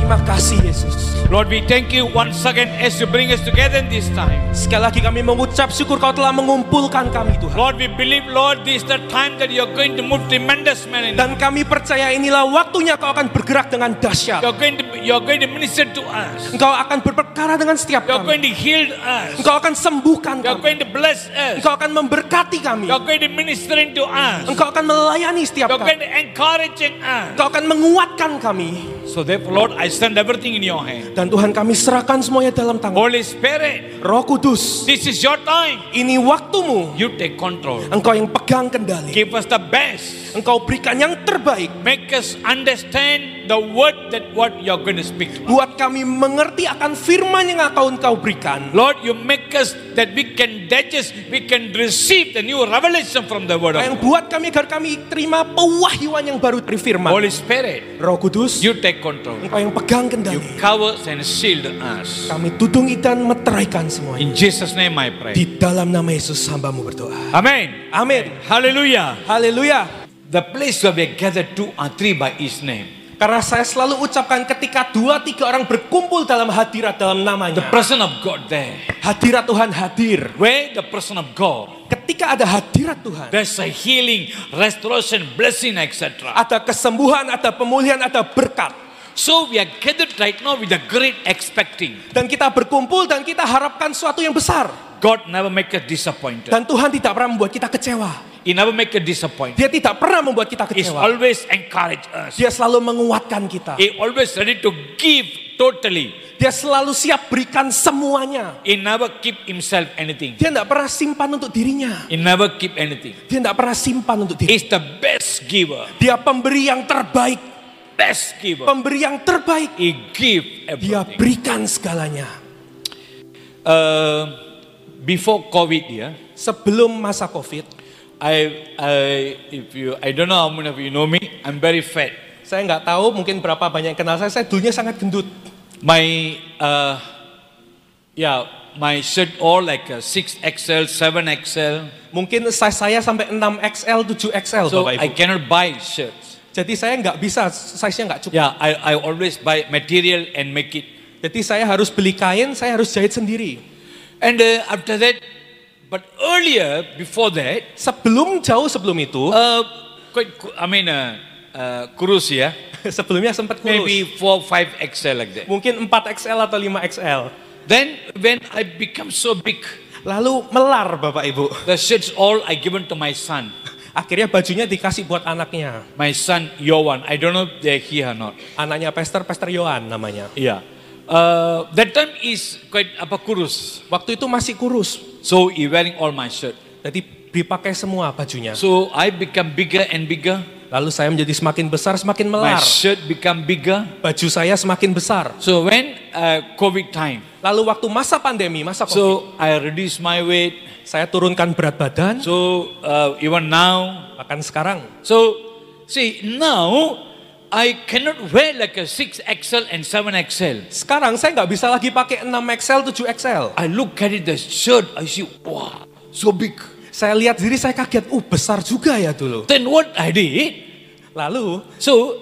Terima kasih Yesus. Lord, we thank you once again as you bring us together in this time. Sekali lagi kami mengucap syukur Kau telah mengumpulkan kami Tuhan. Lord, we believe, Lord, this is the time that you are going to move tremendous manner. Dan kami percaya inilah waktunya Kau akan bergerak dengan dahsyat. You are going to minister to us. Engkau akan berperkara dengan setiap You are going kami. to heal us. Engkau akan sembuhkan You are kami. going to bless us. Engkau akan memberkati kami. You are going to minister to us. Engkau akan melayani setiap You are going kami. to encourage us. Engkau akan menguatkan kami. So therefore, Lord, I send everything in your hand. Dan Tuhan kami serahkan semuanya dalam tangan. Holy Spirit, Roh Kudus, this is your time. ini waktumu. You take control. Engkau yang pegang kendali. Give us the best. Engkau berikan yang terbaik. Make us understand the word that what you are going to speak to us. Buat kami mengerti akan firman yang akan Engkau berikan. Lord, you make us that we can digest, we can receive the new revelation from the word of Yang God. buat kami agar kami terima pewahyuan yang baru dari firman. Holy Spirit, Roh Kudus, you take control. Engkau yang pegang You kendali. cover and shield us. Kami tudungi dan meteraikan semuanya. In Jesus' name I pray. Di dalam nama Yesus hambamu berdoa. Amen. Amin. Hallelujah. Haleluya. The place where we gather 2 or 3 by His name. Karena saya selalu ucapkan ketika 2-3 orang berkumpul dalam hadirat dalam The namanya. presence of God there. Hadirat Tuhan hadir. Where the presence of God, Ketika ada hadirat Tuhan, there's a healing, restoration, blessing, etc. ada kesembuhan, ada pemulihan, ada berkat. So we are gathered right now with a great expecting. Dan kita berkumpul dan kita harapkan sesuatu yang besar. God never make us disappointed. Dan Tuhan tidak pernah membuat kita kecewa. He never make us disappointed. Dia tidak pernah membuat kita He's kecewa. always encourage us. Dia selalu menguatkan kita. He always ready to give totally. Dia selalu siap berikan semuanya. He never keep himself anything. Dia tidak pernah simpan untuk dirinya. He never keep anything. Dia tidak pernah simpan untuk dirinya. He's the best giver. Dia pemberi yang terbaik. Best giver. Pemberi yang terbaik. He give Dia everything. berikan segalanya. Before COVID, yeah, Sebelum masa COVID, I don't know how many of you know me. I'm very fat. saya nggak tahu mungkin berapa banyak yang kenal saya. Saya dulunya sangat gendut. My my shirt all like a 6XL, 7XL. Mungkin size saya sampai 6XL, 7XL, So Bapak I Ibu. cannot buy shirts. Jadi saya nggak bisa, size-nya nggak cukup. Yeah, I always buy material and make it. Jadi saya harus beli kain, saya harus jahit sendiri. And after that, but earlier, before that, Jauh sebelum itu, kurus ya. sebelumnya sempat kurus. Maybe 4-5XL like that. Mungkin 4XL atau 5XL. Then when I become so big, Lalu melar Bapak Ibu. the shirts all I given to my son. Akhirnya bajunya dikasih buat anaknya. My son Yohan, I don't know if they're here or not. Anaknya Pastor Yohan namanya. Yeah. That time is quite kurus. Waktu itu masih kurus. So he wearing all my shirt. Jadi dipakai semua bajunya. So I become bigger and bigger. Lalu saya menjadi semakin besar, semakin My melar. shirt become bigger. Baju saya semakin besar. So when COVID time, Lalu waktu masa pandemi, masa COVID, so I reduce my weight. saya turunkan berat badan. So even now, Bahkan sekarang, so see now I cannot wear like a 6XL and 7XL. sekarang saya nggak bisa lagi pakai 6XL, 7XL. I look at it, the shirt, I see, wow, so big. Saya lihat diri saya kaget, besar juga ya dulu. Then what I did, Lalu, so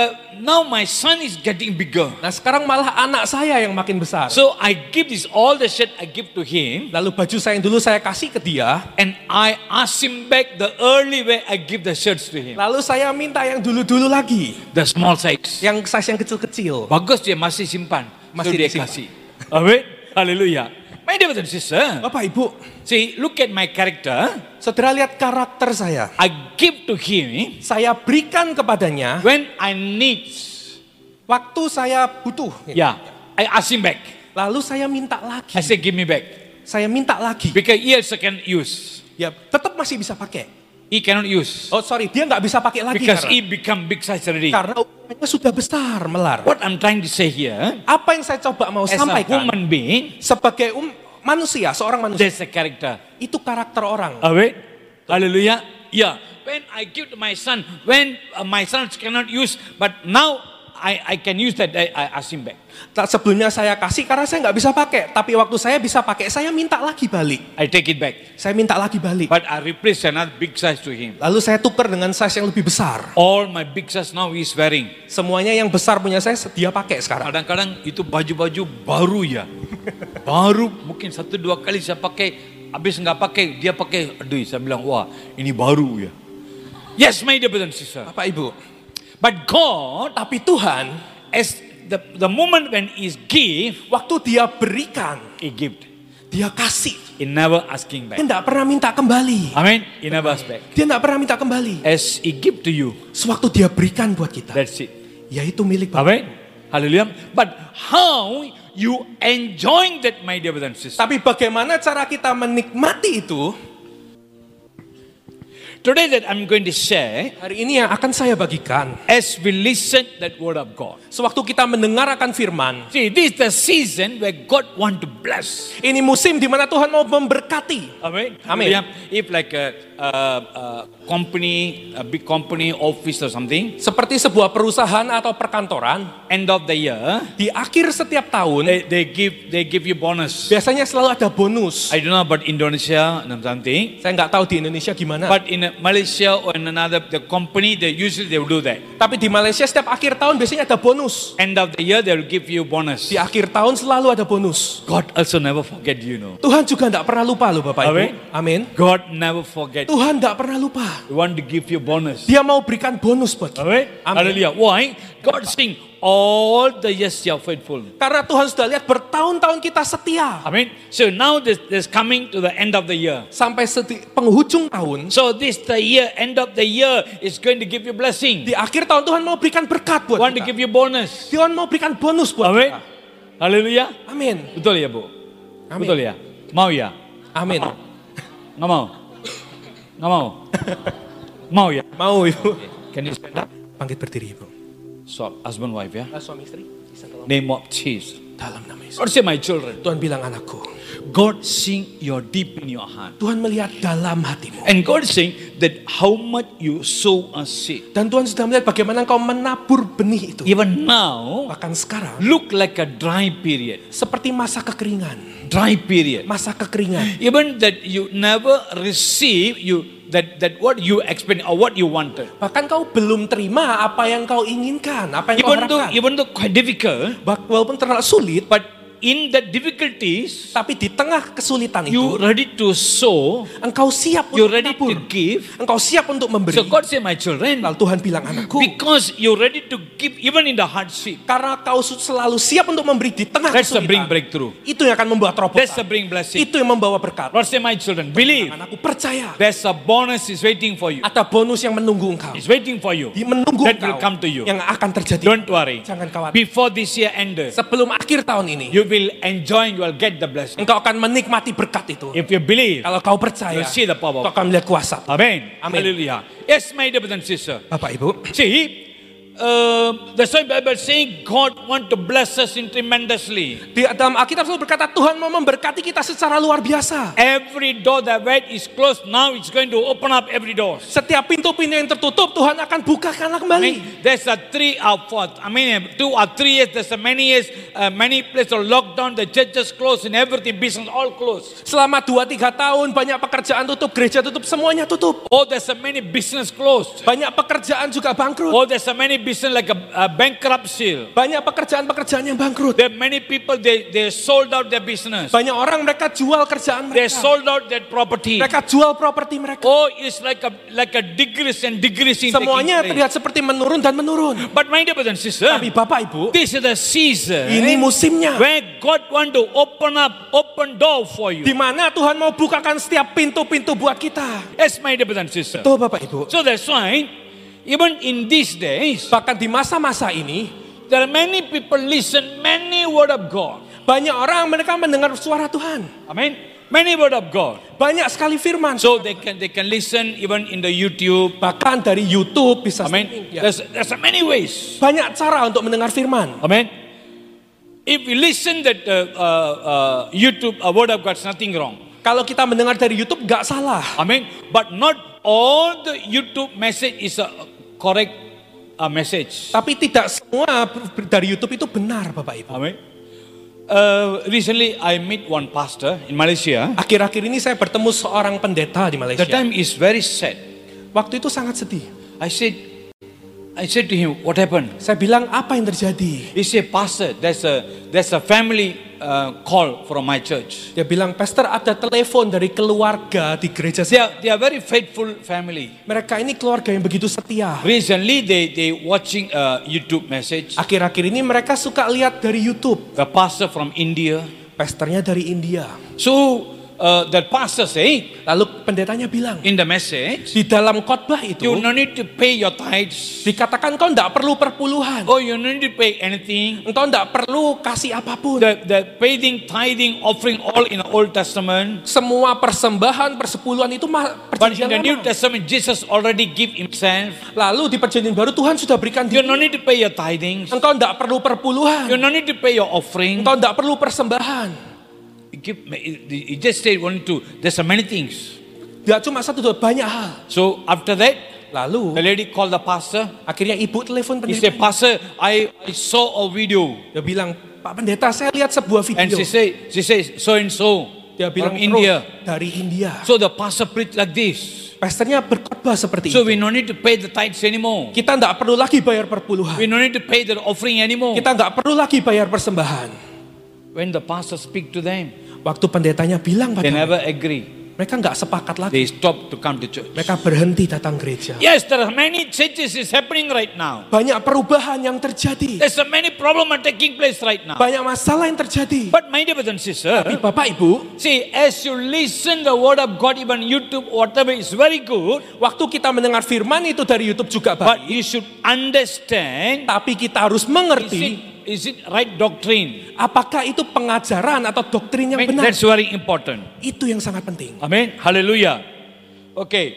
now my son is getting bigger. nah sekarang malah anak saya yang makin besar. So I give this all the shirt I give to him, Lalu baju saya yang dulu saya kasih ke dia. and I ask him back the early way I give the shirts to him. Lalu saya minta yang dulu-dulu lagi. The small size. Yang size yang kecil-kecil. Bagus dia masih simpan. Masih So dia disimpan. kasih. Amin. Hallelujah. My dear brothers and sisters, Bapak Ibu, see, look at my character. saudara lihat karakter saya. I give to him Saya berikan kepadanya when I need. waktu saya butuh. Yeah, I ask him back. Lalu saya minta lagi. I say, give me back. Saya minta lagi. Because he also can use. Ya, tetap masih bisa pakai. He cannot use. Oh sorry, dia nggak bisa pakai lagi Because he karena, become big size already. karena ukurannya sudah besar, melar. What I'm trying to say here, Apa yang saya coba mau as a sampaikan human being, sebagai manusia, seorang manusia, there's a character. itu karakter orang. Amen. Hallelujah. Yeah. When I give to my son, when my son cannot use, but now I can use that. I ask him back. Sebelumnya saya kasih karena saya nggak bisa pakai. Tapi waktu saya bisa pakai, saya minta lagi balik. I take it back. Saya minta lagi balik. But I replace another big size to him. Lalu saya tukar dengan size yang lebih besar. All my big size now he is wearing. Semuanya yang besar punya saya dia pakai sekarang. Kadang-kadang itu baju-baju baru ya. Baru mungkin 1-2 kali saya pakai. Habis nggak pakai, dia pakai. Aduh, saya bilang, wah ini baru ya. Yes, my dear brothers and sisters. Bapak Ibu. But God, Tapi Tuhan, as the moment when He give, waktu dia berikan, He give. dia kasih. He never asking Dia back. tidak pernah minta kembali. Amen. He never ask back. Dia tidak pernah minta kembali. As He give to you, Sewaktu dia berikan buat kita, that's it. yaitu milik Bapak. Amen. Hallelujah. But how you enjoying that, my dear brothers and sisters? Tapi bagaimana cara kita menikmati itu? Today that I'm going to share, Hari ini yang akan saya bagikan. as we listen that word of God. Sewaktu kita mendengar akan firman, See, this is the season where God want to bless. ini musim di mana Tuhan mau memberkati. Amen. Amen. Hallelujah. If like a company, a big company, office or something, Seperti sebuah perusahaan atau perkantoran, end of the year, di akhir setiap tahun, they give you bonus. biasanya selalu ada bonus. I don't know about Indonesia and something, Saya nggak tahu di Indonesia gimana. but in Malaysia or in another the company, they usually they will do that. Tapi di Malaysia setiap akhir tahun biasanya ada bonus. End of the year, they will give you bonus. Di akhir tahun selalu ada bonus. God also never forget you know. Tuhan juga tidak pernah lupa loh Bapak Ibu. Amin. Amin. God never forget. Tuhan tidak pernah lupa. He want to give you bonus. Dia mau berikan bonus buat kita. Amen. Amin. Hallelujah. Why? God sing all the years you are faithful. Karena Tuhan sudah lihat bertahun-tahun kita setia. Amen. So now this coming to the end of the year. Sampai penghujung tahun. So this the year, end of the year is going to give you blessing. Di akhir tahun Tuhan mau berikan berkat buat Want to kita. give you bonus. Tuhan mau berikan bonus buat Amen. kita. Hallelujah. Amin. Betul ya, Bu? Amin. Betul ya? Mau ya? Amin. Nggak mau? Nggak mau? Mau ya? Mau Ibu. Can you stand up? Bangkit berdiri Ibu. So, husband wife ya? Suami istri. Name of Jesus. Dalam nama Yesus. Lord say my children. Tuhan bilang anakku. God seeing your deep in your heart. Tuhan melihat dalam hatimu. And God is saying that how much you sow a seed. Dan Tuhan sudah melihat bagaimana engkau menabur benih itu. Even now, Bahkan sekarang. look like a dry period. Seperti masa kekeringan. Dry period. Masa kekeringan. Even that you never receive that what you expect or what you wanted. Bahkan kau belum terima apa yang kau inginkan. Apa yang kau harapkan. Even though quite difficult, Walaupun terlalu sulit. but in the difficulties, Tapi di tengah kesulitan you itu. ready to sow, Engkau siap you untuk ready menabur. to give. Engkau siap untuk memberi. So God say, my children, Lalu Tuhan bilang anakku. because you ready to give even in the hardship, Karena kau selalu siap untuk memberi di tengah that's the bring kesulitan. breakthrough. Itu yang akan membawa That's the terobosan. bring blessing. Itu yang membawa berkat. Lord say, my children, believe. Anakku percaya. There's a bonus is waiting for you. Ada bonus yang menunggu engkau. It's waiting for you. Menunggu That engkau. will come to you. Yang akan terjadi. Don't worry. Jangan khawatir. Before this year ends, Sebelum akhir tahun ini. you will enjoy, you will get the blessing. Engkau akan menikmati berkat itu. If you believe, Kalau kau percaya. you'll see the power. Kau akan melihat kuasa. Amen. Amen. Hallelujah. Yes, my dear brothers and sisters. Bapak Ibu. See, that's why Bible saying God want to bless us in tremendously. Di dalam Alkitab selalu berkata Tuhan mau memberkati kita secara luar biasa. Every door that went is closed, now it's going to open up every door. Setiap pintu-pintu yang tertutup Tuhan akan bukakan I kembali. mean, there's a 3 or 4. I mean, 2 or 3 years. There's a many years. Many places are locked down. The churches closed and everything. Business all closed. Selama 2-3 tahun banyak pekerjaan tutup, gereja tutup, semuanya tutup. Oh, there's a many business closed. Banyak pekerjaan juga bangkrut. Oh, there's a many business like a bankruptcy. Banyak pekerjaan-pekerjaan yang bangkrut. There are many people they sold out their business. Banyak orang mereka jual kerjaan They mereka. sold out their property. Mereka jual properti mereka. Oh, it's like a decrease and decreasing. Semuanya taking place. terlihat seperti menurun dan menurun. But my dear brothers and sisters, Tapi Bapak Ibu, this is the season ini musimnya. where God want to open door for you. Di mana Tuhan mau bukakan setiap pintu-pintu buat kita. Yes, my dear brothers and sisters. Betul Bapak Ibu. So that's why even in these days, Bahkan di masa-masa ini, there are many people listen many word of God. banyak orang mereka mendengar suara Tuhan. Amen. Many word of God. Banyak sekali firman. So they can listen even in the YouTube. Bahkan dari YouTube bisa Amen. streaming. Ya. There's many ways. Banyak cara untuk mendengar firman. Amen. If we listen that YouTube, a word of God, is nothing wrong. Kalau kita mendengar dari YouTube gak salah. Amen. But not all the YouTube message is correct message. Tapi tidak semua dari YouTube itu benar, Bapak Ibu. Amen. Recently I meet one pastor in Malaysia. Akhir-akhir ini saya bertemu seorang pendeta di The Malaysia. time is very sad. Waktu itu sangat sedih. I said to him, what happened? Saya bilang, apa yang terjadi? He said, Pastor, there's a family call from my church. Dia bilang, Pastor, ada telepon dari keluarga di gereja saya. They are very faithful family. Mereka ini keluarga yang begitu setia. Recently they watching a YouTube message. Akhir-akhir ini mereka suka lihat dari YouTube. The pastor from India. Pastornya dari India. So that pastor say Lalu pendetanya bilang, in the message, di dalam khotbah itu, you no need to pay your tithes. dikatakan kau tidak perlu perpuluhan. Oh, you no need to pay anything. Engkau tidak perlu kasih apapun. The paying, tithing, offering all in the Old Testament. Semua persembahan, persepuluhan itu But in perjanjian the New lama. Testament, Jesus already give himself. Lalu di perjanjian baru Tuhan sudah berikan You diri. no need to pay your tithing. Engkau tidak perlu perpuluhan. You no need to pay your offering. Engkau tidak perlu persembahan. He just said one, two. There's so many things. Tidak cuma satu, dua, banyak hal. So after that, Lalu the lady called the pastor. akhirnya ibu telepon He said, pendeta. Pastor, I saw a video. Dia bilang, Pak Pendeta, saya lihat sebuah And video. she says, so and so Dia bilang, from India. dari India. So the pastor preached like this. Pastornya berkhotbah seperti So itu. we no need to pay the tithes anymore. Kita tidak perlu lagi bayar perpuluhan. We no need to pay the offering anymore. Kita nggak perlu lagi bayar persembahan. When the pastor speak to them, Waktu pendetanya bilang they pada never agree. mereka nggak sepakat lagi. They stop to come to church. Mereka berhenti datang gereja. Yes, there are many changes is happening right now. Banyak perubahan yang terjadi. There's so many problems are taking place right now. Banyak masalah yang terjadi. But my dear brothers and sisters, Tapi Bapak Ibu, see, as you listen the word of God, even YouTube, whatever is very good. waktu kita mendengar firman itu dari YouTube juga But baik. you should understand, Tapi kita harus mengerti is it right doctrine? apakah itu pengajaran atau doktrin yang benar. That's very important. Itu yang sangat penting. Amen. Hallelujah. Okay.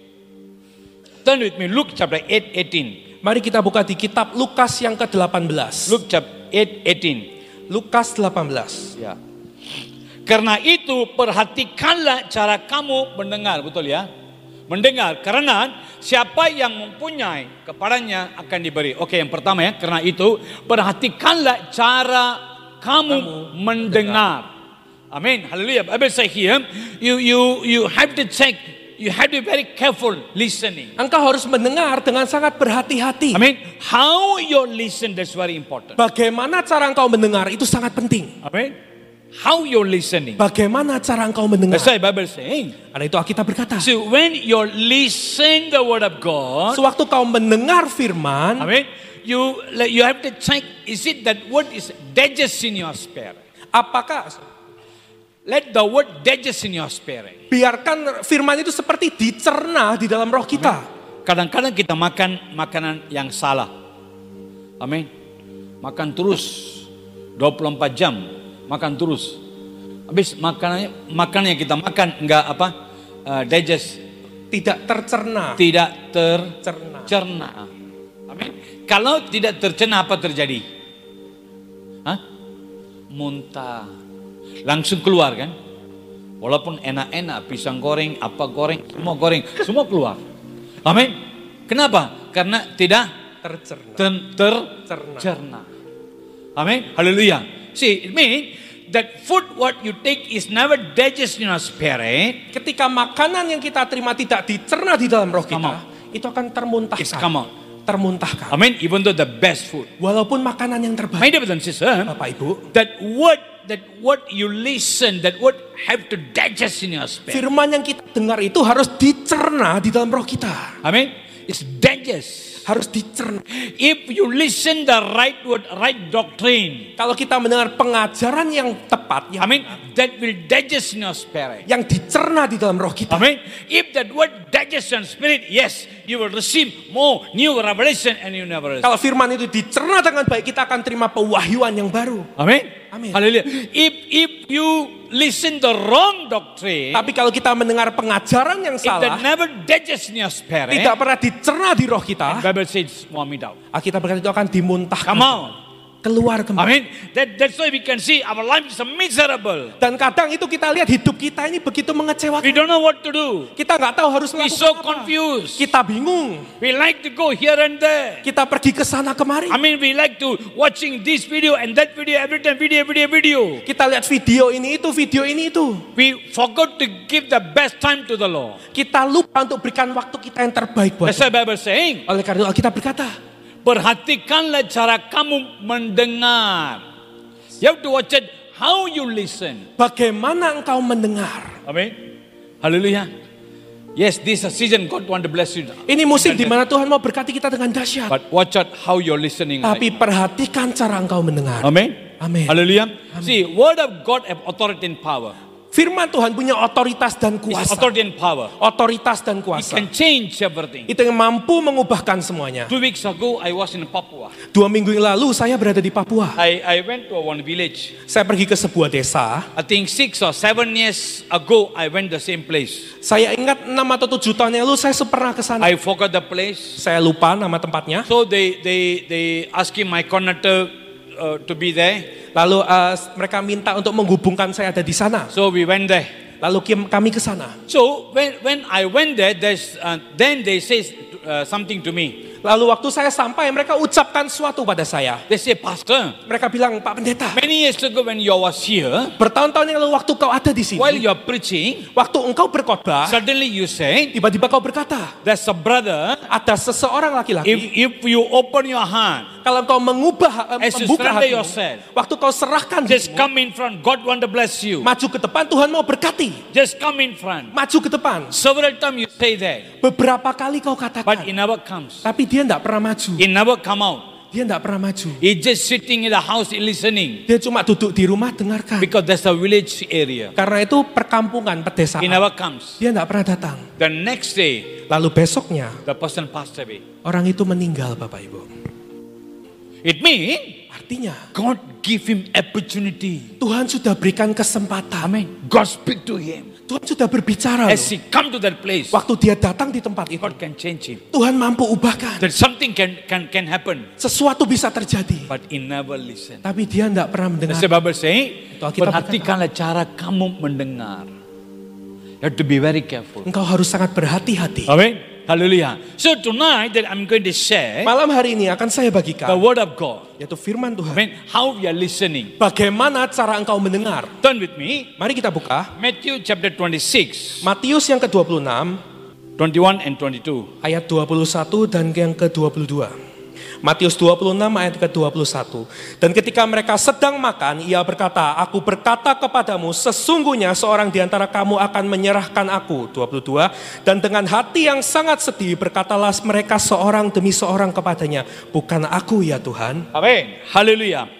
Turn with me, Luke chapter 8:18. Mari kita buka di kitab Lukas yang ke-18. Luke chapter 8:18. Lukas 18. Ya. Karena itu perhatikanlah cara kamu mendengar, betul ya? Mendengar, karena siapa yang mempunyai kepadanya akan diberi. Oke, yang pertama ya, karena itu perhatikanlah cara kamu mendengar. Amin. Haleluya. Bible say here, you have to check, you have to be very careful listening. Engkau harus mendengar dengan sangat berhati-hati. Amin. How you listen, that's very important. Bagaimana cara engkau mendengar itu sangat penting. Amin. How you're listening. Bagaimana cara engkau mendengar? That's why Bible saying. Karena itu Alkitab berkata, So when you listen the word of God, sewaktu kau mendengar firman, amen, you have to check, is it that word is digest in your spirit? apakah Let the word digest in your spirit. biarkan firman itu seperti dicerna di dalam roh kita. Kadang-kadang kita makan makanan yang salah. Amin. Makan terus 24 jam, makan terus. Habis makanan yang kita makan enggak digest, Tidak tercerna. tidak Cerna. tercerna. Amin. Kalau tidak tercerna apa terjadi? Hah? Muntah. Langsung keluar kan? Walaupun enak-enak, pisang goreng, apa goreng, semua keluar. Amin. Kenapa? Karena tidak Tercerna. tercerna. Amin. Haleluya. See, it means that food what you take is never digest in your spirit. Ketika makanan yang kita terima tidak dicerna di dalam roh Come kita, itu akan It's come out. termuntahkan. Amin. Even though the best food. Walaupun makanan yang My terbaik, dear brothers and sisters, Bapak Ibu, that word you listen, that word have to digest in your spirit. firman yang kita dengar itu harus dicerna di dalam roh kita. Amen. It's digest. Harus dicerna. If you listen the right word, right doctrine, Kalau kita mendengar pengajaran yang tepat, I mean, that will digest in your spirit. yang dicerna di dalam roh kita. Amen. If that word digest in spirit, yes, you will receive more new revelation and you never receive. Kalau firman itu dicerna dengan baik, kita akan terima pewahyuan yang baru. Amen. Amin. Hallelujah. If you listen the wrong doctrine, Tapi kalau kita mendengar pengajaran yang if that salah, never digest in your spirit, tidak pernah dicerna di roh kita, Bible says vomit out. Alkitab berkata itu akan dimuntahkan. Come on. keluar kembali. That's why we can see our life is miserable. Dan kadang itu kita lihat hidup kita ini begitu We mengecewakan. don't know what to do. Kita nggak tahu harus We melakukan so apa. confused. Kita bingung. We like to go here and there. Kita pergi ke sana kemari. We like to watching this video and that video every time, video. Kita lihat video ini itu. We forgot to give the best time to the Lord. Kita lupa untuk berikan waktu kita yang terbaik buat That's why Tuhan. Bible saying, Oleh karena itu Alkitab berkata, perhatikanlah cara kamu mendengar. You have to watch it how you listen. bagaimana engkau mendengar. Amen. Hallelujah. Yes, this is a season God want to bless you. Ini musim di mana Tuhan mau berkati kita dengan dahsyat. But watch out how you're listening. Tapi perhatikan cara engkau mendengar. Amen. Amin. Hallelujah. See, word of God have authority and power. Firman Tuhan punya otoritas dan It's kuasa. authority and power. Otoritas dan It kuasa. can change everything. Itu yang mampu mengubahkan semuanya. 2 weeks ago, I was in Papua. 2 minggu yang lalu saya berada di Papua. I went to one village. Saya pergi ke sebuah desa. I think 6 or 7 years ago, I went the same place. Saya ingat 6 atau 7 tahun yang lalu saya pernah ke sana. I forgot the place. Saya lupa nama tempatnya. So they asking my conductor to be there. Lalu mereka minta untuk menghubungkan saya ada di sana. So we went there. Lalu kami ke sana. So when I went there, then they say something to me. Lalu waktu saya sampai mereka ucapkan sesuatu pada saya. They say, Pastor, Mereka bilang, Pak Pendeta, many years ago when you was here, bertahun-tahun yang lalu waktu kau ada di while sini, you are preaching, waktu engkau berkhotbah, suddenly you say, tiba-tiba kau berkata, there's a brother, ada seseorang laki-laki, if you open your hand, kalau kau membuka as you surrender hatimu, yourself, waktu kau serahkan just dirimu, come in front. God want to bless you. maju ke depan, Tuhan mau berkati. Just come in front. Maju ke depan. Several times you say that, Beberapa kali kau but katakan, it never comes. tapi dia tidak pernah maju. It never come out. Dia tidak pernah maju. He's just sitting in the house listening Dia cuma duduk di rumah dengarkan. because that's a village area. Karena itu perkampungan, He pedesaan. never comes. Dia tidak pernah datang. The next day, Lalu besoknya, the person passed away. orang itu meninggal, Bapak Ibu. It means Artinya, God give him opportunity. Tuhan sudah berikan kesempatan. Amen. God speak to him. Tuhan sudah berbicara. As Loh. he come to that place, Waktu dia datang di tempat itu, God can change him. Tuhan mampu ubahkan. That something can happen. Sesuatu bisa terjadi. But he never listen. Tapi dia tidak pernah mendengar. That's the Bible saying, Itu Alkitab perhatikanlah cara kamu mendengar. You have to be very careful. Engkau harus sangat berhati-hati. Amen. Hallelujah. So tonight that I'm going to share Malam hari ini akan saya the bagikan, word of God. yaitu firman Tuhan. Amen. How we are listening. Bagaimana cara engkau mendengar? Turn with me. Mari kita buka Matthew chapter 26, Matius yang ke-26, 21 and 22. ayat 21 dan yang ke-22. Matius 26 ayat ke-21. Dan ketika mereka sedang makan, ia berkata, aku berkata kepadamu, sesungguhnya seorang di antara kamu akan menyerahkan aku. 22. Dan dengan hati yang sangat sedih, berkatalah mereka seorang demi seorang kepadanya, bukan aku ya Tuhan. Amen. Hallelujah.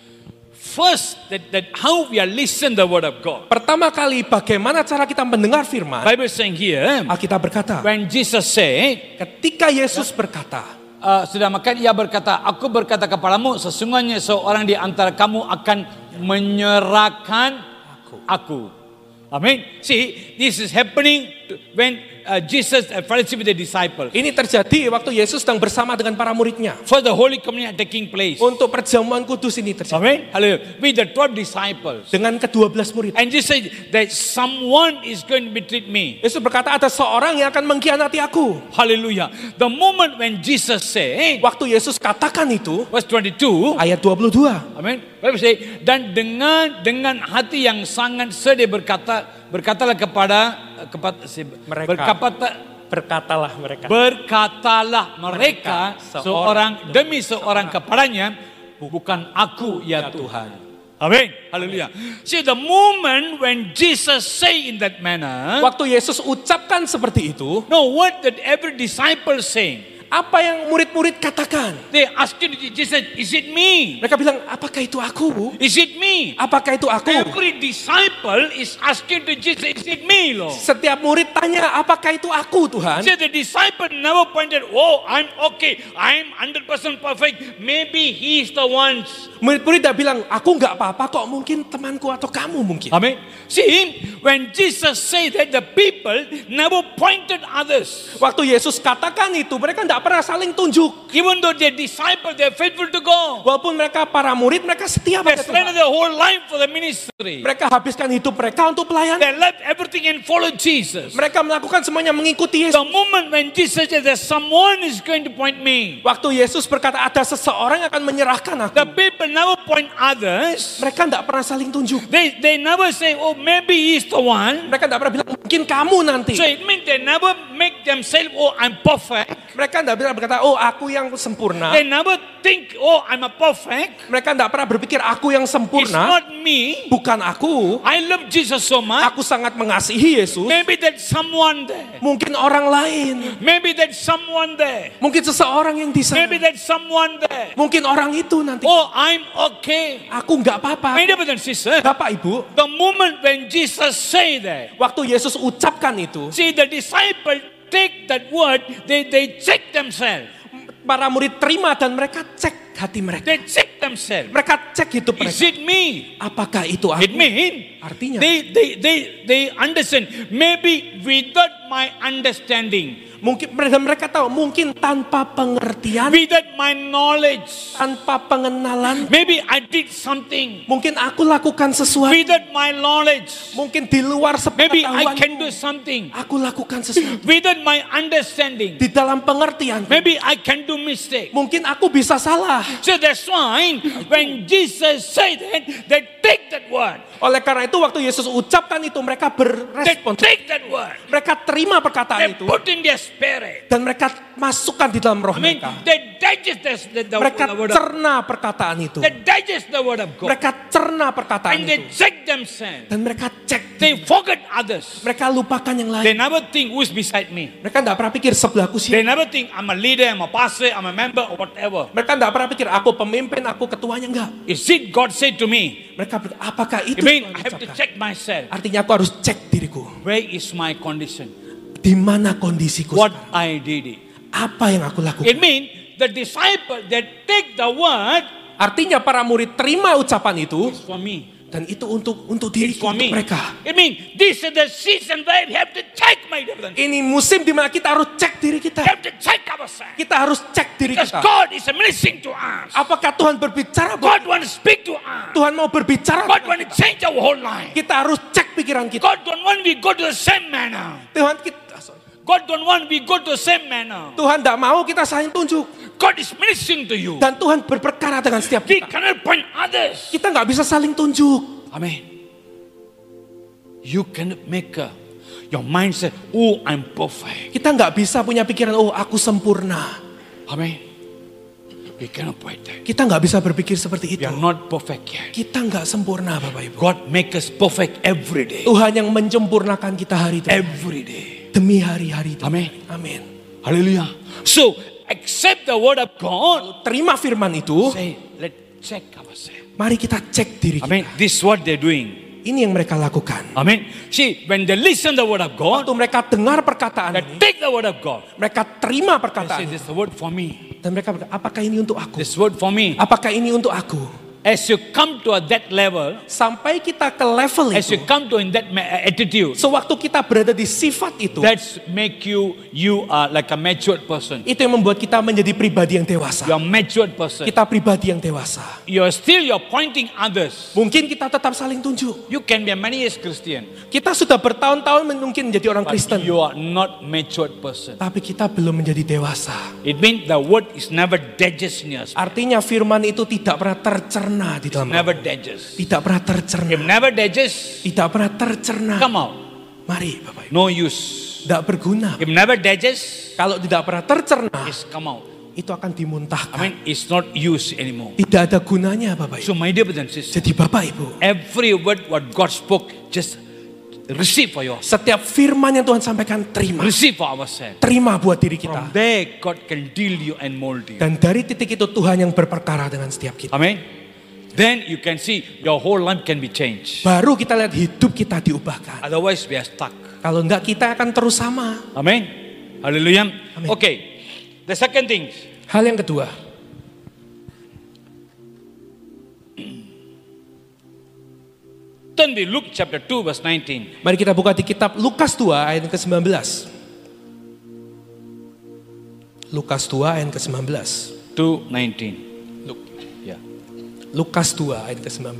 First, that how we are listen the word of God. Pertama kali, bagaimana cara kita mendengar firman? Bible saying here, Alkitab berkata, when Jesus said, ketika Yesus berkata, sudah makan, ia berkata, aku berkata kepadamu, sesungguhnya seorang di antara kamu akan menyerahkan aku. Amen. See, this is happening when Jesus fellowship with the disciples. ini terjadi waktu Yesus sedang bersama dengan para muridnya. For the Holy Communion taking place. Untuk perjamuan kudus ini terjadi. Amen. Hallelujah. With the 12 disciples. Dengan ke-12 murid. And Jesus said that someone is going to betray me. Yesus berkata ada seorang yang akan mengkhianati aku. Hallelujah. The moment when Jesus said, Waktu Yesus katakan itu, verse 22, ayat 22. amen. Bible say, dan dengan hati yang sangat sedih berkatalah kepada Mereka. Berkatalah mereka. Berkatalah mereka seorang demi seorang kepadanya, bukan aku ya Tuhan. Amen. Hallelujah. See, the moment when Jesus say in that manner, Waktu Yesus ucapkan seperti itu, no, what did every disciple saying? apa yang murid-murid katakan? They asked Jesus, is it me? Mereka bilang, apakah itu aku? Is it me? Apakah itu aku? Every disciple is asking to Jesus, is it me, Lord? Setiap murid tanya, apakah itu aku Tuhan? See, the disciple never pointed, oh, I'm okay, I'm 100% perfect, maybe he's the ones. Murid-murid tidak bilang, aku nggak apa-apa kok, mungkin temanku atau kamu mungkin. Amen. See, when Jesus said that, the people never pointed others. Waktu Yesus katakan itu, mereka tidak pernah saling tunjuk. Even though they're disciples, they're faithful to God. Walaupun mereka para murid, mereka setia They pada surrender Tuhan. their whole life for the ministry. Mereka habiskan hidup mereka untuk pelayanan. They left everything and followed Jesus. Mereka melakukan semuanya mengikuti Yesus. The moment when Jesus said that someone is going to point me, Waktu Yesus berkata ada seseorang yang akan menyerahkan aku. the people never point others. Mereka tidak pernah saling tunjuk. They never say, oh, maybe he's the one. Mereka tidak pernah bilang mungkin kamu nanti. So it means they never make themselves, oh, I'm perfect. Mereka tidak pernah berkata, oh aku yang sempurna. They never think, oh, I'm a perfect. Mereka tidak pernah berpikir aku yang It's sempurna. not me. Bukan aku. I love Jesus so much. Aku sangat mengasihi Yesus. Maybe there's someone there. Mungkin orang lain. Maybe there's someone there. Mungkin seseorang yang di sana. Maybe there's someone there. Mungkin orang itu nanti. Oh, I'm okay. Aku nggak apa-apa. My brothers and sisters, Bapak Ibu, the moment when Jesus say that, waktu Yesus ucapkan itu, see the disciple take that word, they check themselves. para murid terima dan mereka cek hati mereka. They check themselves. Mereka cek hidup Is mereka. it me? Apakah itu It aku? means Artinya, they understand. Maybe without my understanding, mungkin mereka tahu, mungkin tanpa pengertian, without my knowledge, tanpa pengenalan, maybe I did something. mungkin aku lakukan sesuatu, Without my knowledge, mungkin di luar maybe I can do sepengetahuanku, something. aku lakukan sesuatu. Without my understanding, Di dalam pengertian, maybe I can do mistake. mungkin aku bisa salah. So that's why when Jesus said that, they take that word. Oleh karena itu waktu Yesus ucapkan itu, mereka They berespon. take that word. Mereka terima They perkataan itu put in their spirit. dan mereka masukkan di dalam roh I mean, mereka. they digest the Mereka word of cerna perkataan itu. They digest the word of God. Mereka cerna perkataan And they itu. check themselves. Dan mereka cek. They forget others. Mereka lupakan yang They lain. never think who's beside me. Mereka tidak pernah pikir sebelahku They siapa. never think I'm a leader, I'm a pastor, I'm a member, or whatever. Mereka tidak pernah pikir aku pemimpin, aku ketuanya, enggak. Is it God said to me? Mereka berkata, apakah itu I mean, Tuhan I have to ucapkan? check myself. Artinya aku harus cek diriku. Where is my condition? Di mana kondisiku What sekarang? I did it. Apa yang aku lakukan? It means the disciple that take the word Artinya para murid terima ucapan itu. for me. Dan itu untuk diriku, For untuk me. mereka. It means this is the season where we have to check my difference. Ini musim di mana kita harus cek diri kita. We have to check ourselves. Kita harus cek diri Because kita. God is ministering to us. Apakah Tuhan berbicara buat God wants to speak to us. Tuhan mau berbicara God buat wants to kita. change our whole life. Kita harus cek pikiran kita. God don't want we go to the same manner. Tuhan God don't want we go to the same manner. Tuhan tidak mau kita saling tunjuk. God is ministering to you. Dan Tuhan berperkara dengan setiap We kita. cannot point others. Kita nggak bisa saling tunjuk. Amen. You cannot make your mind say, oh, I'm perfect. Kita nggak bisa punya pikiran, oh aku sempurna. Amen. We cannot point that. Kita nggak bisa berpikir seperti We itu. are not perfect yet. Kita nggak sempurna Bapak Ibu. God make us perfect every day. Tuhan yang menyempurnakan kita hari demi Every day. demi hari-hari. Amen. Amin. Hallelujah. So, accept the word of God. Terima firman itu. Say, let's check ourselves. Mari kita cek diri kita. Amen. This is what they're doing. Ini yang mereka lakukan. Amen. See, when they listen the word of God, Waktu mereka dengar perkataan they ini, take the word of God. mereka terima They say, perkataan this ini. is the word for me. Dan mereka berkata, apakah ini untuk aku? This word for me. Apakah ini untuk aku? As you come to that level, Sampai kita ke level as itu. you come to in that attitude, Sewaktu kita berada di sifat itu. that's make you are like a matured person. Itu yang membuat kita menjadi pribadi yang dewasa. You're a matured person. Kita pribadi yang dewasa. You're pointing others. Mungkin kita tetap saling tunjuk. You can be a many years Christian, Kita sudah bertahun-tahun mungkin menjadi orang but Kristen. you are not matured person. Tapi kita belum menjadi dewasa. It means the word is never digest in your spirit. Artinya firman itu tidak pernah tercerna di dalam. Never digest. Tidak pernah tercerna. If never digest, Tidak pernah tercerna. come out. Mari Bapak Ibu. No use. Tidak berguna. If never digest, Kalau tidak pernah tercerna, it's come out. itu akan dimuntahkan. I mean, it's not used anymore. Tidak ada gunanya Bapak Ibu. So my dear brothers and sisters, Jadi Bapak Ibu, every word what God spoke, just receive for yours. setiap firman yang Tuhan sampaikan terima. Receive for ourselves. Terima buat diri From kita. there, God can deal you and mold you. Dan dari titik itu Tuhan yang berperkara dengan setiap kita. Amen. Then you can see your whole life can be changed. Baru kita lihat hidup kita diubahkan. Otherwise, we are stuck. Kalau enggak kita akan terus sama. Amen. Hallelujah. Amen. Okay. The second thing. Hal yang kedua. Turn to Luke chapter 2 verse 19. Mari kita buka di kitab Lukas 2 ayat ke-19. Lukas 2 ayat ke-19. 2:19. Luk- Ya. Lukas 2 ayat ke-19.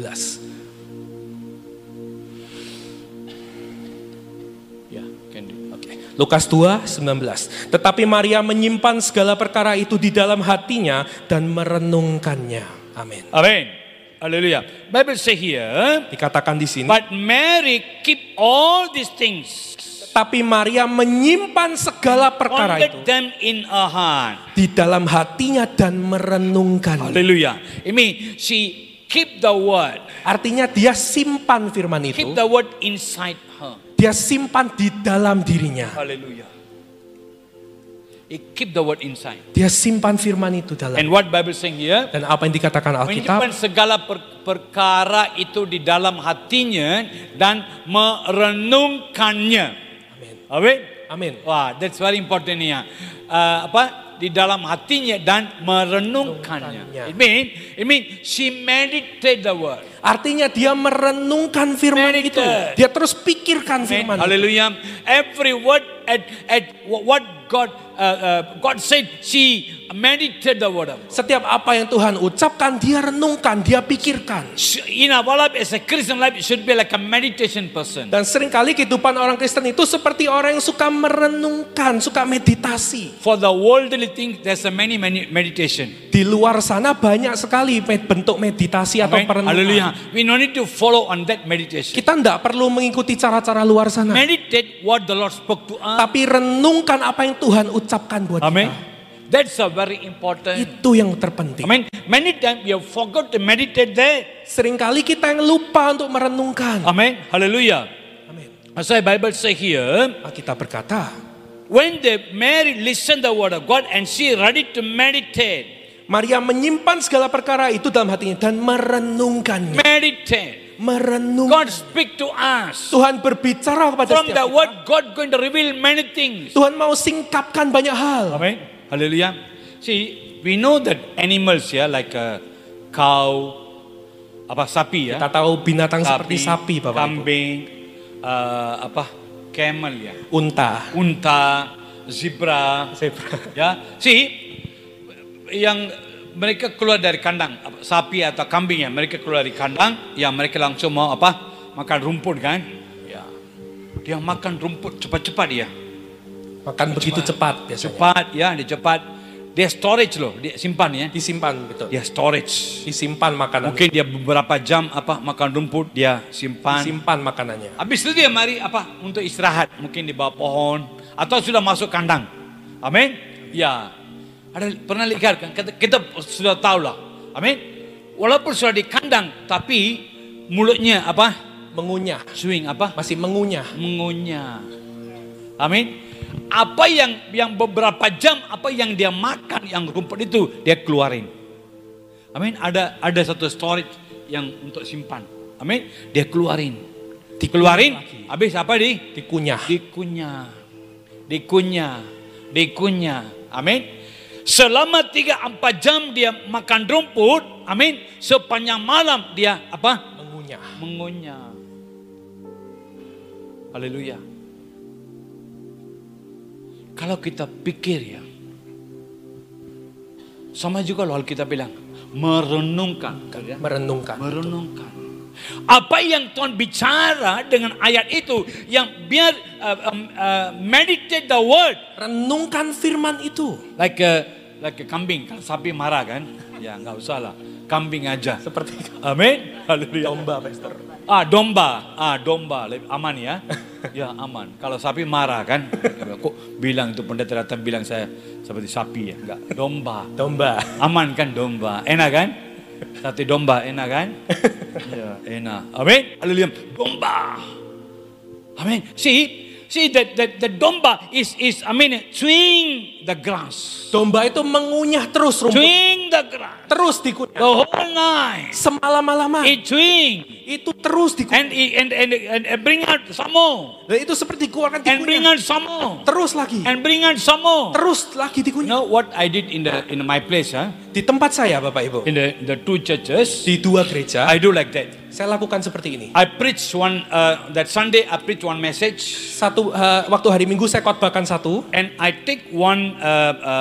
Ya, can do. Oke. Lukas 2, 19. Tetapi Maria menyimpan segala perkara itu di dalam hatinya dan merenungkannya. Amin. Amen. Hallelujah. Bible say here, Dikatakan di sini, but Mary keep all these things, tapi Maria menyimpan segala perkara pondered itu them in her heart. di dalam hatinya dan merenungkannya. Hallelujah. It means she keep the word. Artinya dia simpan firman itu, Keep the word inside her. dia simpan di dalam dirinya. Hallelujah. He keep the word inside. Dia simpan firman itu dalam. And what Bible saying here? Dan apa yang dikatakan Alkitab, Menyimpan segala perkara itu di dalam hatinya dan merenungkannya. amin. Amin. Amin. Wah, that's very important ya. Di dalam hatinya dan merenungkannya. It mean she meditate the word. Artinya dia merenungkan firman itu. Meditate. Dia terus pikirkan firman itu. Hallelujah. Every word at what God said, she meditate the word of God. Setiap apa yang Tuhan ucapkan, dia renungkan, dia pikirkan. In our life as a Christian life, it should be like a meditation person. Dan seringkali kehidupan orang Kristen itu seperti orang yang suka merenungkan, suka meditasi. For the worldly things, there's a many meditation. Di luar sana banyak sekali bentuk meditasi atau Amen. perenungan. Hallelujah. We no need to follow on that meditation. Kita tidak perlu mengikuti cara-cara luar sana. Meditate what the Lord spoke to us. Tapi renungkan apa yang Tuhan ucapkan buat Amen. kita. That's a very important. Itu yang terpenting. Amen. Many times we have forgot to meditate that. Seringkali kita yang lupa untuk merenungkan. Amen. Hallelujah. Amin. As the Bible say here, Alkitab berkata, when Mary listened the word of God and she ready to meditate. Maria menyimpan segala perkara itu dalam hatinya dan merenungkannya. Meditate. Merenungkan. God speak to us. Tuhan berbicara kepada From setiap the kita. word, God going to reveal many things. Tuhan mau singkapkan banyak hal. Amen. Hallelujah. See, we know that animals ya, like a cow, sapi ya. Kita tahu binatang seperti sapi, Bapak Ibu. kambing, camel ya, Unta. zebra, Zebra. ya. See, yang mereka keluar dari kandang, sapi atau kambing ya, mereka keluar dari kandang, ya mereka langsung mau makan rumput kan? Ya, dia makan rumput cepat-cepat ya. Makan begitu cepat biasanya. Cepat ya, dia cepat. Dia storage loh, dia simpan ya. Disimpan, betul. Dia storage. Disimpan makanan. Mungkin dia beberapa jam makan rumput, dia simpan. Disimpan makanannya. Habis itu dia mari untuk istirahat, mungkin di bawah pohon atau sudah masuk kandang. Amin. Ya. Ada pernah lihat kan? Kita sudah tahu lah. Amin. Walaupun sudah di kandang, tapi mulutnya Mengunyah. Swing Masih mengunyah. Mengunyah. Amin. Apa yang beberapa jam yang dia makan yang rumput itu dia keluarin. Amin. Ada satu storage yang untuk simpan. Amin. Dia keluarin. Dikeluarin. Habis Dikunyah. Dikunyah. Amin. Selama 3-4 jam dia makan rumput. Amin. Sepanjang malam dia mengunyah. Haleluya. Kalau kita pikir ya, sama juga loh kita bilang merenungkan. Merenungkan. Apa yang Tuhan bicara dengan ayat itu, yang biar meditate the word. Renungkan firman itu. Like a kambing, kalau sapi marah kan, ya nggak usah lah, kambing aja. Seperti Amin. Haleluya. domba, Pastor. Domba, aman ya. Ya aman. Kalau sapi marah kan, kok bilang itu pendeta datang bilang saya seperti sapi ya, enggak. Domba. Aman kan domba, enak kan? Sate domba enak kan? Ya enak. Amin. Haleluya. Domba. Amin. See that the domba is chewing the grass. Domba itu mengunyah terus rumput. Chewing the grass. Terus dikunyah. The whole night. Semalam-malaman. It chewing. Itu terus dikunyah. And bring out some more. Dan itu seperti dikeluarkan And bring dikunyah. out some more. Terus lagi. And bring out some more. Terus lagi You dikunyah. know what I did in my place, Di tempat saya, Bapak Ibu. in the two churches, Di 2 gereja. I do like that. Saya lakukan seperti ini. I preach that Sunday I preach one message, Waktu hari Minggu saya khotbahkan satu. and I take one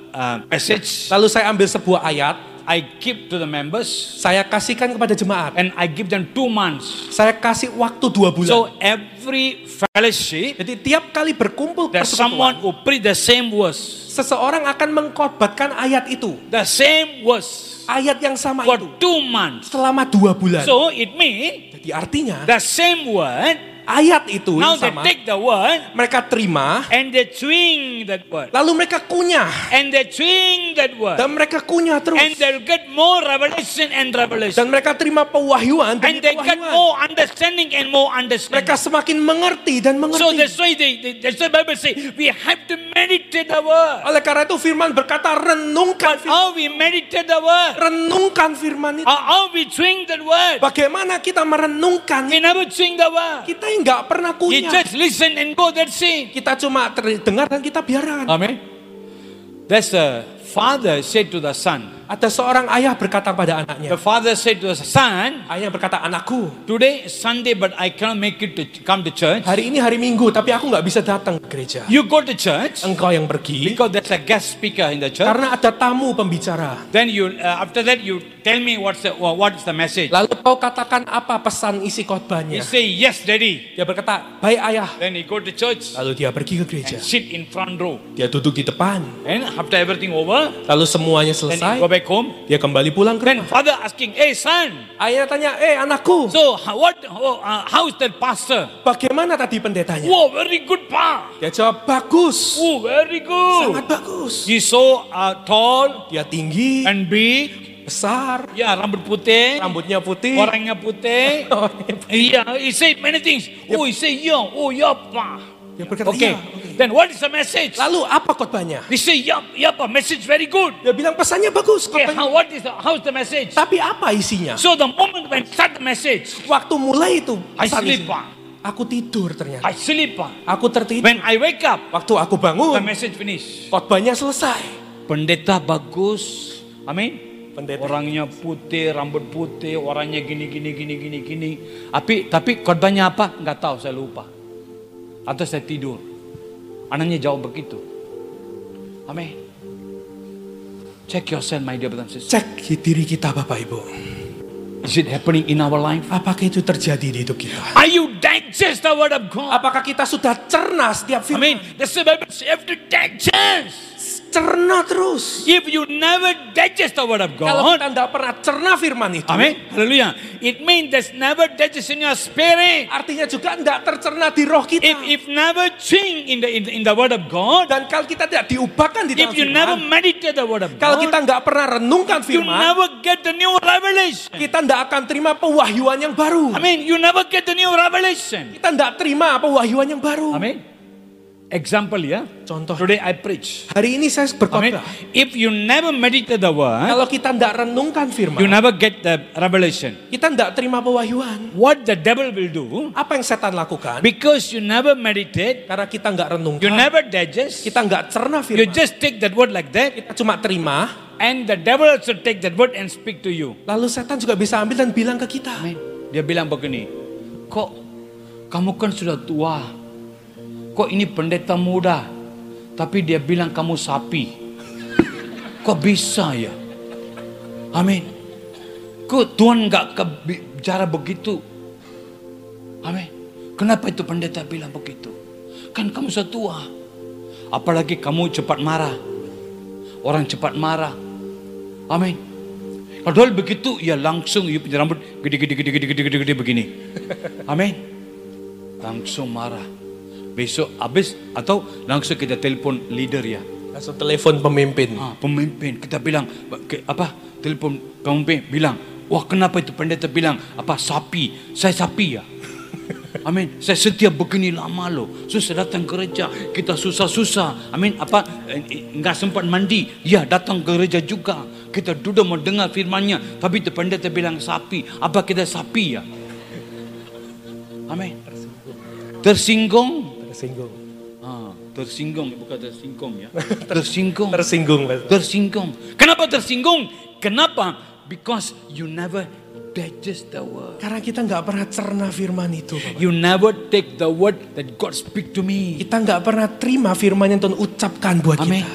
passage. Lalu saya ambil sebuah ayat, I give to the members saya kasihkan kepada jemaat. and I give them 2 months. Saya kasih waktu 2 bulan. So every fellowship, Jadi tiap kali berkumpul there's someone persekutuan, who preach the same verse. seseorang akan mengkhotbahkan ayat itu. The same verse Ayat yang sama for itu 2 months. selama 2 bulan. So it means Jadi artinya the same word. ayat itu Now yang they sama take the word mereka terima, and they swing that word. lalu mereka kunyah And they swing that word. dan mereka kunyah And terus. they'll get more revelation and revelation. Dan mereka terima pewahyuan And demi they get pewahyuan. more understanding and more understanding. Mereka semakin mengerti dan So mengerti. that's why that's why Bible say we have to meditate the word. Oleh karena itu firman berkata renungkan But how we meditate the word? renungkan firman itu. How we swing that word? Bagaimana kita merenungkan? We never swing the word. Kita nggak pernah You kunyah. just listen and go, that's it. Kita cuma dengar dan kita biarkan. Amen. That's the father said to the son. Ada seorang ayah berkata pada The anaknya. father said to the son, Ayah berkata, anakku, today is Sunday but I cannot make it to come to church. hari ini hari Minggu tapi aku nggak bisa datang ke gereja. You go to church Engkau yang pergi because there's a guest speaker in the church. karena ada tamu pembicara. Then you after that you tell me what is the message. Lalu kau katakan apa pesan isi He khotbahnya? say yes, daddy. Dia berkata, baik ayah. Then he go to church Lalu dia pergi ke gereja. and sit in front row. Dia duduk di depan. And after everything over, Lalu semuanya then he selesai. go back home. Dia kembali pulang ke Then rumah. father asking, hey son, Ayah tanya, anakku, so how is that pastor? bagaimana tadi pendetanya? Oh, very good pa. Dia jawab, bagus. Oh, very Sangat good. bagus. He's so tall Dia tinggi, and big. besar, Ya, rambut putih. rambutnya putih. Orangnya putih. Yeah, he said many things. Oh, he say yeah. Oh, yeah, pa. Dia berkata, Okay. "Iya, oke." Then what is the message? Lalu apa khotbahnya? He say yeah, yeah, pa. Message very good. Dia bilang pesannya bagus. Okay, khotbahnya. how's the message? Tapi apa isinya? So the moment when start the message, Waktu mulai itu, I pesan sleep, isinya. pa. Aku tidur ternyata. I sleep, pa. Aku tertidur. When I wake up, Waktu aku the bangun, message finish. khotbahnya selesai. Pendeta bagus. Amin. Pendeta. Orangnya putih, rambut putih, orangnya gini. Tapi khotbahnya apa? Enggak tahu, saya lupa. Atau saya tidur. Anaknya jawab begitu. Amin. Check yourself, my dear brothers and sisters. Cek diri kita Bapak Ibu. Is it happening in our life? Apakah itu terjadi di hidup kita? Are you digest the word of God? Apakah kita sudah cerna setiap Amin. firman? That's the Bible says you have to digest. Cerna terus. If you never digest the word of Kalau God, kita tidak pernah cerna firman itu, amen, hallelujah. It means there's never digest in your spirit. artinya juga tidak tercerna di roh kita. If never change in the word of God, Dan kalau kita tidak diubahkan di if dalam you never firman, meditate the word of kalau kita God, nggak pernah renungkan you firman, never get the new revelation. kita tidak akan terima pewahyuan yang baru. I mean, you never get the new revelation. Kita tidak terima pewahyuan yang baru. Amen. Example, yeah. Contoh, Today I preach. hari ini saya Amen. berkhotbah. If you never meditate the word, Kalau kita tidak renungkan you firman, never get the revelation. kita tidak terima pewahyuan. What the devil will do, Apa yang setan lakukan? because you never meditate, Karena kita nggak you renungkan, never digest, kita nggak cerna you firman, just take that word like that, kita cuma terima, and the devil also take that word and speak to you. lalu setan juga bisa ambil dan bilang ke kita, Amin. Dia bilang begini, kok kamu kan sudah tua, kok ini pendeta muda, tapi dia bilang kamu sapi. Kok bisa ya? Amin. Kok Tuhan nggak bicara begitu? Amin. Kenapa itu pendeta bilang begitu? Kan kamu sudah tua. Apalagi kamu cepat marah. Orang cepat marah. Amin. Padahal begitu, ya langsung you punya rambut gede begini. Amin. Langsung marah. Besok habis atau langsung kita telepon leader ya. langsung telepon pemimpin. Pemimpin kita bilang apa? Telepon pemimpin bilang, wah kenapa itu pendeta bilang apa sapi? Saya sapi ya. Amin. Saya setia begini lama loh. Susah datang gereja, kita susah-susah. Amin. Apa enggak sempat mandi? Ya datang ke gereja juga. Kita duduk mau dengar firman-Nya, tapi itu pendeta bilang sapi. Apa kita sapi ya? Amin. Tersinggung. Tersinggung bukan tersinggung ya. Tersinggung. Tersinggung. Kenapa tersinggung? Kenapa? Because you never digest the word. Karena kita nggak pernah cerna firman itu. You never take the word that God speak to me. Kita nggak pernah terima firman yang Tuhan ucapkan buat Amen. kita.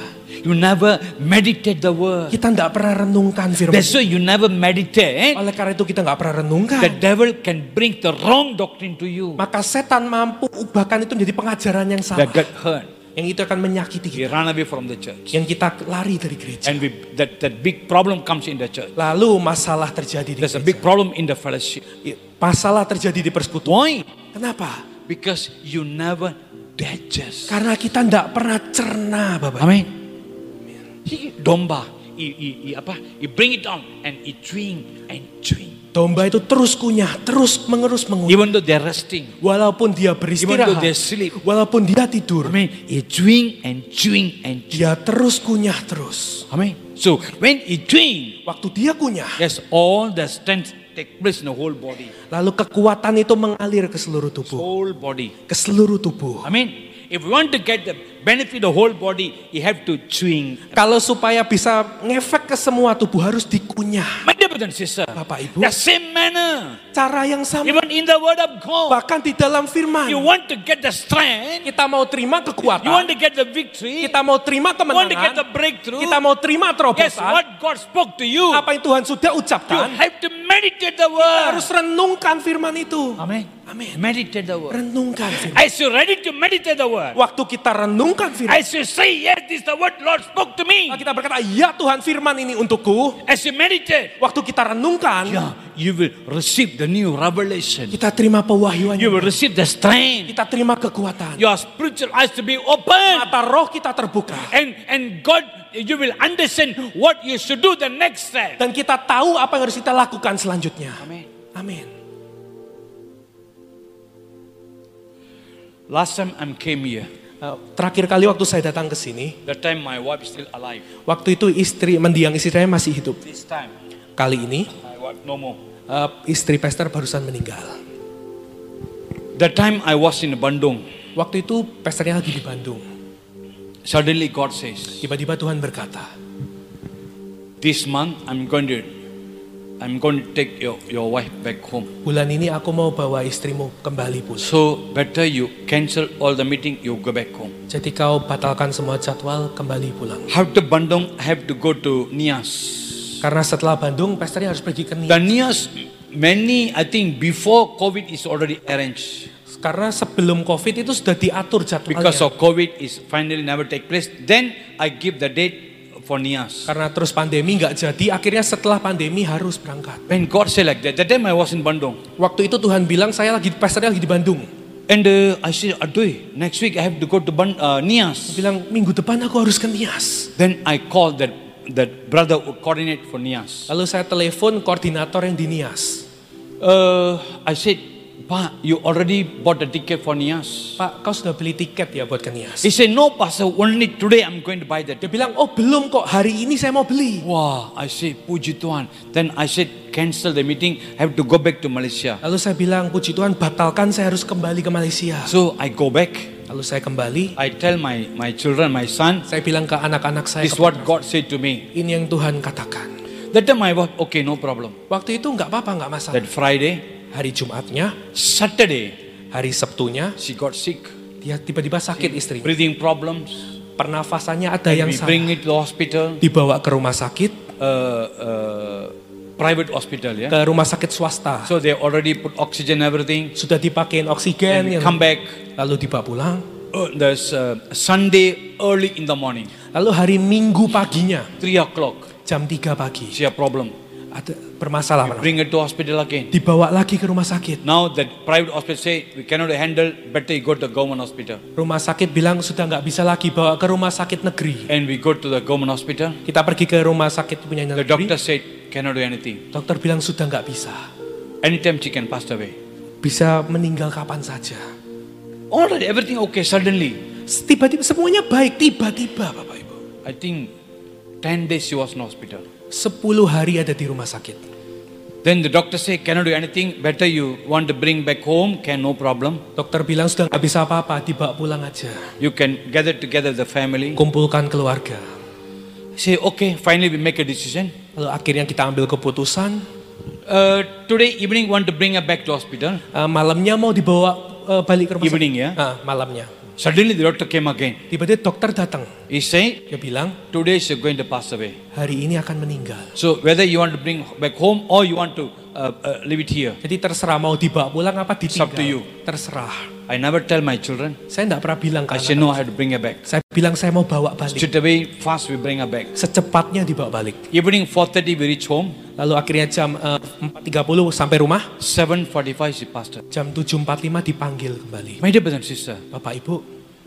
you never meditate the word. Kita tidak pernah renungkan firman. That's why you never meditate. Oleh karena itu kita nggak pernah renungkan. The devil can bring the wrong doctrine to you. Maka setan mampu ubahkan itu menjadi pengajaran yang salah. That get hurt. Yang itu akan menyakiti We kita. run away from the church. Yang kita lari dari gereja. And that big problem comes in the church. Lalu masalah terjadi di There's a gereja. big problem in the fellowship. Masalah terjadi di persekutuan. Why? Kenapa? Because you never digest. Karena kita tidak pernah cerna, Bapak. Amen. Domba, you bring it down and it chewing and chewing. Domba itu terus kunyah, terus mengerus mengunyah. Even though they're resting, Walaupun dia even beristirahat, though they sleep, walaupun dia tidur, amen, it chewing and chewing and chewing. dia terus kunyah terus. Amen. So when it chewing, Waktu dia kunyah, yes, all the strength take place in the whole body. lalu kekuatan itu mengalir ke seluruh tubuh. Whole body. Ke seluruh tubuh. Amen. If you want to get the benefit of the whole body, you have to chewing. Kalau supaya bisa ngefek ke semua tubuh harus dikunyah. My dear brother and sister, Bapak Ibu, the same manner, cara yang sama. even in the word of God, Bahkan di dalam firman, you want to get the strength, kita mau terima you want kekuatan, to get the victory, kita mau terima you want to get the kemenangan, breakthrough. kita mau terima Yes, terobosan, what God spoke to you, apa yang Tuhan sudah you ucapkan, have to meditate the kita word. harus renungkan firman itu. Amen. Amin. Meditate the word. Renungkan firman. As you ready to meditate the word, Waktu kita renungkan firman, as you say, yes, this is the word Lord spoke to me. kita berkata, ya Tuhan firman ini untukku. As you meditate, Waktu kita renungkan, yeah, you will receive the new revelation. kita terima pewahyuan. You will receive the strength. Kita terima kekuatan. Your spiritual eyes to be open. Mata roh kita terbuka. And God, you will understand what you should do the next step. Dan kita tahu apa yang harus kita lakukan selanjutnya. Amen. Amin. Last time I came here, Terakhir kali waktu saya datang ke sini, that time my wife is still alive. waktu itu mendiang istri saya masih hidup. This time, Kali ini my wife no more. istri pastor barusan meninggal. That time I was in Bandung. Waktu itu pastornya lagi di Bandung. Suddenly God says, Tiba-tiba Tuhan berkata, this month I'm going to take your wife back home. bulan ini aku mau bawa istrimu kembali pulang. So better you cancel all the meeting, you go back home. Jadi kau batalkan semua jadwal, kembali pulang. After Bandung, I have to go to Nias. Karena setelah Bandung, pastornya harus pergi ke The Nias. Nias, I think before COVID is already arranged. Karena sebelum COVID itu sudah diatur Because jadwalnya. of COVID is finally never take place. Then I give the date for Nias. Karena terus pandemi nggak jadi, akhirnya setelah pandemi harus berangkat. When God said like that time I was in Bandung. Waktu itu Tuhan bilang pastornya lagi di Bandung. And I said, Aduh, next week I have to go to Nias. Bilang minggu depan aku harus ke Nias. Then I called that brother who coordinate for Nias. Lalu saya telepon koordinator yang di Nias. I said, Pak, you already bought the ticket for Nias. Pak, kau sudah beli tiket ya buat ke Nias? He said, no, Pastor, only today I'm going to buy that. Dia bilang, oh belum kok, hari ini saya mau beli. Wow, I said, Puji Tuhan. Then I said, cancel the meeting, I have to go back to Malaysia. Lalu saya bilang, puji Tuhan batalkan, saya harus kembali ke Malaysia. So I go back. Lalu saya kembali, I tell my children, my son, saya bilang ke anak-anak saya, this is what God said to me. ini yang Tuhan katakan. That time I was, okay, no problem. Waktu itu nggak apa-apa, nggak masalah. That Friday, Hari Jumatnya, Saturday, hari Sabtunya, she got sick. dia tiba-tiba sakit istrinya. Breathing problems. Pernafasannya ada yang We bring salah. it to the hospital, Dibawa ke rumah sakit, private hospital, yeah. ke rumah sakit swasta. So they already put oxygen, everything. Sudah dipakein oksigen, And we come back. lalu dibawa pulang. There's Sunday early in the morning, Lalu hari Minggu paginya, 3 o'clock. jam 3 pagi, She have problem. ada permasalahan. Bring it to hospital again. Dibawa lagi ke rumah sakit. Now that private hospital say we cannot handle, better you go to the government hospital. Rumah sakit bilang sudah nggak bisa lagi bawa ke rumah sakit negeri. And we go to the government hospital. Kita pergi ke rumah sakit punya The negeri. doctor said cannot do anything. Dokter bilang sudah nggak bisa. Anytime she can pass away. Bisa meninggal kapan saja. Already everything okay suddenly. Tiba-tiba semuanya baik, tiba-tiba Bapak Ibu. I think 10 days she was in hospital. 10 hari ada di rumah sakit. Then the doctor say cannot do anything. Better you want to bring back home, can no problem. Dokter bilang sudah nggak bisa apa-apa, dibawa pulang aja. You can gather together the family. Kumpulkan keluarga. Say okay, finally we make a decision. Lalu akhirnya kita ambil keputusan. Today evening want to bring her back to hospital. Malamnya mau dibawa balik ke rumah Evening, sakit. ya? Malamnya. Suddenly the doctor came again. Tiba-tiba dokter datang. He said, Dia bilang, today she's going to pass away. hari ini akan meninggal. So whether you want to bring back home or you want to leave it here, Jadi terserah mau dibawa pulang apa it's up to you. ditinggal. Terserah. I never tell my children. Saya tidak pernah bilang I ke say anak. no, I have to bring her back. Saya bilang saya mau bawa balik. Straight away, fast we bring her back. Secepatnya dibawa balik. Evening 4:30 we reach home. Lalu akhirnya jam 4.30 sampai rumah. 7:45 she passed away. Jam 7.45 dipanggil kembali. My dear brother and sister, Bapak Ibu,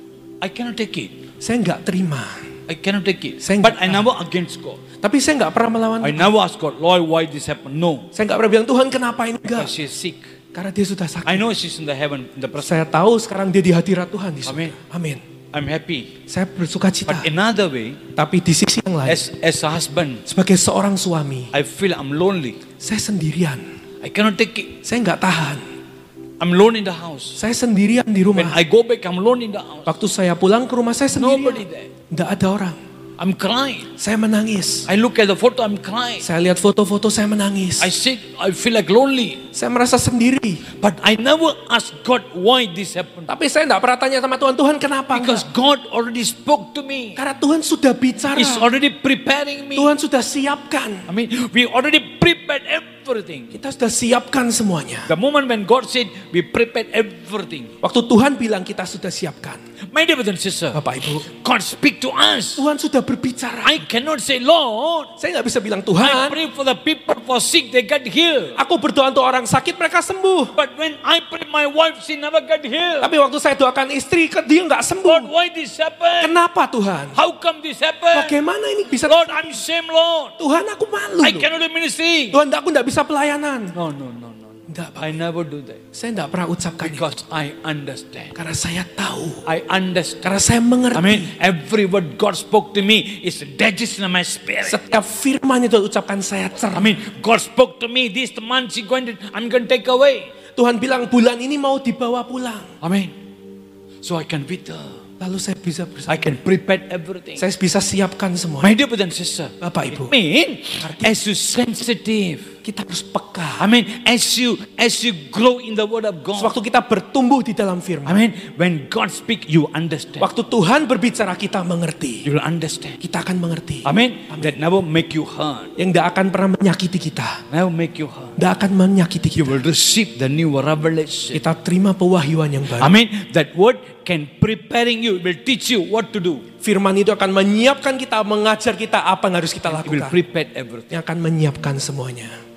I cannot take it. saya nggak terima. I cannot take it. Saya But nggak I never against God. Tapi saya nggak pernah melawan I Tuhan. never ask God, Lord, why this happened? No. Saya nggak pernah bilang, Tuhan kenapa ini enggak? Because she is sick. Karena dia sudah sakit. I know she's in the heaven, in the presence. Saya tahu sekarang dia di hadirat Tuhan di surga. Amin. Amin. I'm happy. Saya bersuka cita. But another way, Tapi di sisi yang lain, as a husband, sebagai seorang suami, I feel I'm lonely. saya sendirian. I cannot take it. Saya nggak tahan. I'm alone in the house. Saya sendirian di When rumah. I go back, I'm alone in the house. Waktu saya pulang ke rumah saya Nobody sendirian. there. Nggak ada orang. I'm crying. Saya menangis. I look at the photo, I'm crying. Saya lihat foto-foto, saya menangis. I sit, I feel like lonely. Saya merasa sendiri. But I never ask God why this happened. Tapi saya nggak pernah tanya sama Tuhan, Tuhan kenapa? Because Enggak. God already spoke to me. Karena Tuhan sudah bicara. He's already preparing me. Tuhan sudah siapkan. I mean, we already prepared everything. Kita sudah siapkan semuanya. The moment when God said, we prepared everything. Waktu Tuhan bilang kita sudah siapkan. My dear brother and sister, Bapak Ibu, God speak to us. Tuhan sudah berbicara. I cannot say, Lord, Saya nggak bisa bilang I Tuhan, pray for the people for sick, they get healed. aku berdoa untuk orang sakit mereka sembuh. But when I pray my wife, she never get healed. Tapi waktu saya doakan istri, dia nggak Lord, sembuh. why this happened? Kenapa Tuhan? How come this happened? Bagaimana ini bisa? Lord, I'm shame, Lord. Tuhan aku malu. I loh. cannot do ministry. Tuhan aku nggak bisa pelayanan. No. Enggak, Pak. I never do that. Saya nggak pernah ucapkan itu. Because I understand. Karena saya tahu. I understand. Karena saya mengerti. I mean, every word God spoke to me is digested in my spirit. Setiap firman itu ucapkan saya I cerah. mean, God spoke to me, this month I'm going to take away. Tuhan bilang bulan ini mau dibawa pulang. I mean, so I can withdraw. Lalu saya bisa I can prepare everything. Saya bisa siapkan semua. My dear brother and sister, Bapak Ibu, I mean, as you sensitive, kita harus peka. I mean, as you grow in the word of God. Waktu kita bertumbuh di dalam I firman. mean, when God speak, you understand. Waktu Tuhan berbicara kita mengerti. You will understand. Kita akan mengerti. Amen. That never make you hurt. Yang tidak akan pernah menyakiti kita. Never make you hurt. Tidak akan menyakiti You kita. will receive the new revelation. Kita terima pewahyuan yang baru. Amen. That word can preparing you, will teach you what to do. Firman itu akan menyiapkan kita, mengajar kita apa yang harus kita It will lakukan. prepare everything. Yang akan menyiapkan semuanya.